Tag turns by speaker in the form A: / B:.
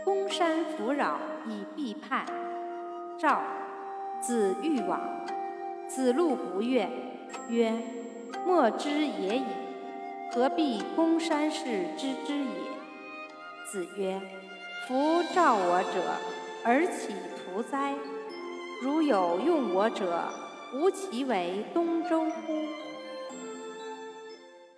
A: 公山弗扰以避叛。赵，子欲往，子路不悦，曰：莫之也已，何必公山氏知之也？子曰：夫召我者，而岂徒哉？如有用我者，吾其为东周乎？